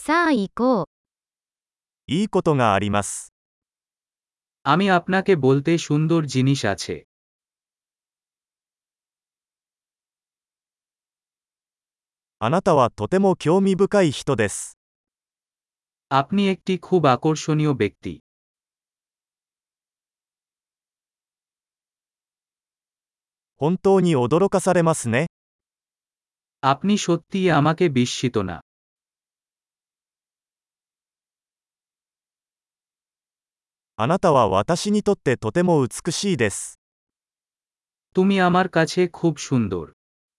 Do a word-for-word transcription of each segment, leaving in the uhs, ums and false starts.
さあ行こう。 いいことがあります。 আমি আপনাকে বলতে সুন্দর জিনিস আছে। あなたはとても興味深い人です。 আপনি একটি খুব আকর্ষণীয় ব্যক্তি। 本当に驚かされますね。 আপনি সত্যিই আমাকে বিস্মিত না। あなたは私にとってとても美しいです。 তুমি আমার কাছে খুব সুন্দর।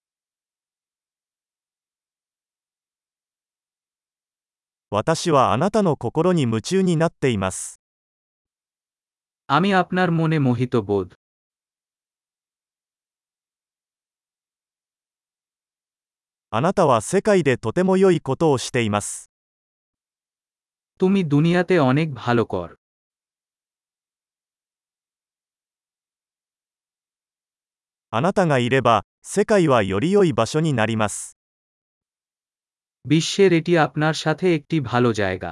私はあなたの心に夢中になっています。 আমি আপনার মনে মোহিত বোধ। あなたは世界でとても良いことをしています。 তুমি দুনিয়াতে অনেক ভালো কর। あなたがいれば、世界はより良い場所になります。 বিশ্বের এটি আপনার সাথে একটি ভালো জায়গা।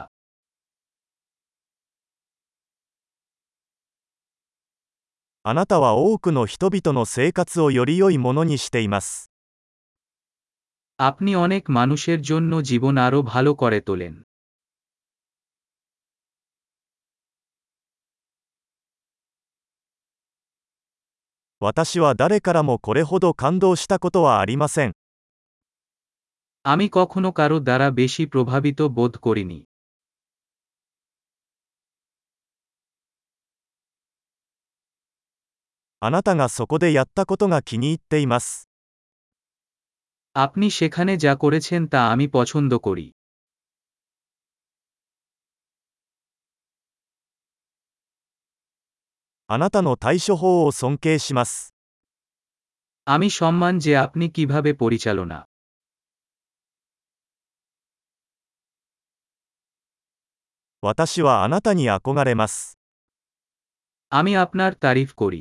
あなたは多くの人々の生活をより良いものにしています。 আপনি অনেক মানুষের জন্য জীবন আরও ভালো করে তোলেন। 私は誰からもこれほど感動したことはありません。 আমি কখনো কারো দ্বারা বেশি প্রভাবিত বোধ করিনি। あなたがそこでやったことが気に入っています。 আপনি সেখানে যা করেছেন তা আমি পছন্দ করি। あなたの対処法を尊敬します。 আমি সম্মান যে আপনি কিভাবে পরিচালনা। 私はあなたに憧れます。 আমি আপনার তারিফ করি।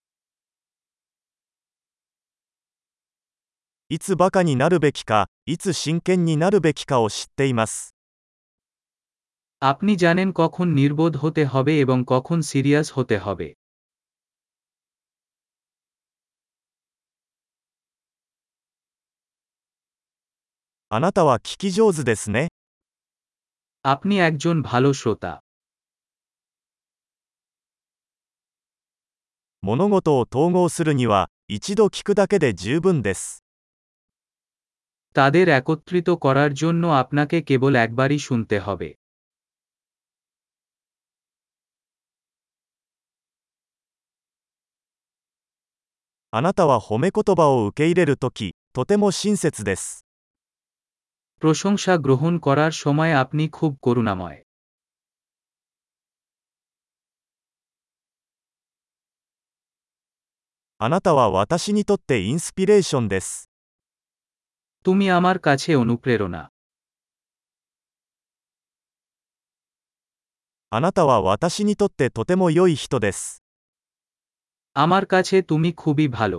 いつバカになるべきか、いつ真剣になるべきかを知っています。 আপনি জানেন কখন নির্বোধ হতে হবে এবং কখন সিরিয়াস হতে হবে। あなたは聞き上手ですね。 আপনি একজন ভালো শ্রোতা। 物事を統合するには、一度聞くだけで十分です。 তাদের একত্রিত করার জন্য আপনাকে কেবল একবারই শুনতে হবে। あなたは褒め言葉を受け入れるとき、とても親切です。 প্রশংসা গ্রহণ করার সময় আপনি খুব করুণাময়। あなたは私にとってインスピレーションです。 তুমি আমার কাছে অনুপ্রেরণা। あなたは私にとってとても良い人です。 আমার কাছে তুমি খুবই ভালো।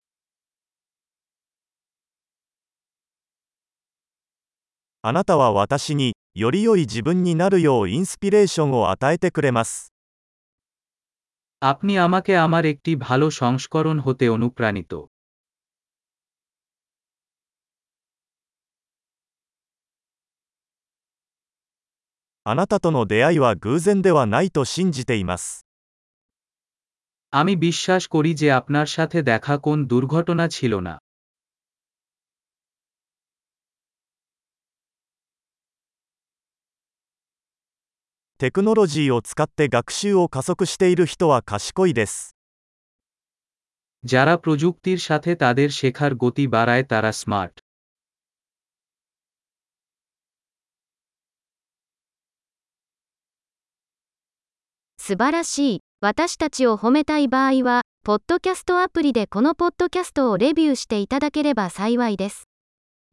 あなたは私に、より良い自分になるようインスピレーションを与えてくれます。 আপনি আমাকে আমার একটি ভালো সংস্করণ হতে অনুপ্রাণিত। あなたとの出会いは偶然ではないと信じています。 আমি বিশ্বাস করি যে আপনার সাথে দেখা কোন দুর্ঘটনা ছিল না। テクノロジーを使って学習を加速している人は賢いです。 যারা প্রযুক্তির সাথে তাদের শেখার গতি বাড়ায় তারা স্মার্ট। 素晴らしい。私たちを褒めたい場合は、ポッドキャストアプリでこのポッドキャストをレビューしていただければ幸いです。